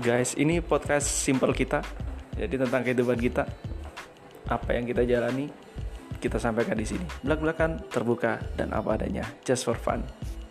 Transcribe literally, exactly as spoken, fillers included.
Guys, ini podcast simple kita. Jadi tentang kehidupan kita, apa yang kita jalani, kita sampaikan di sini. Belak-belakan, terbuka dan apa adanya, just for fun.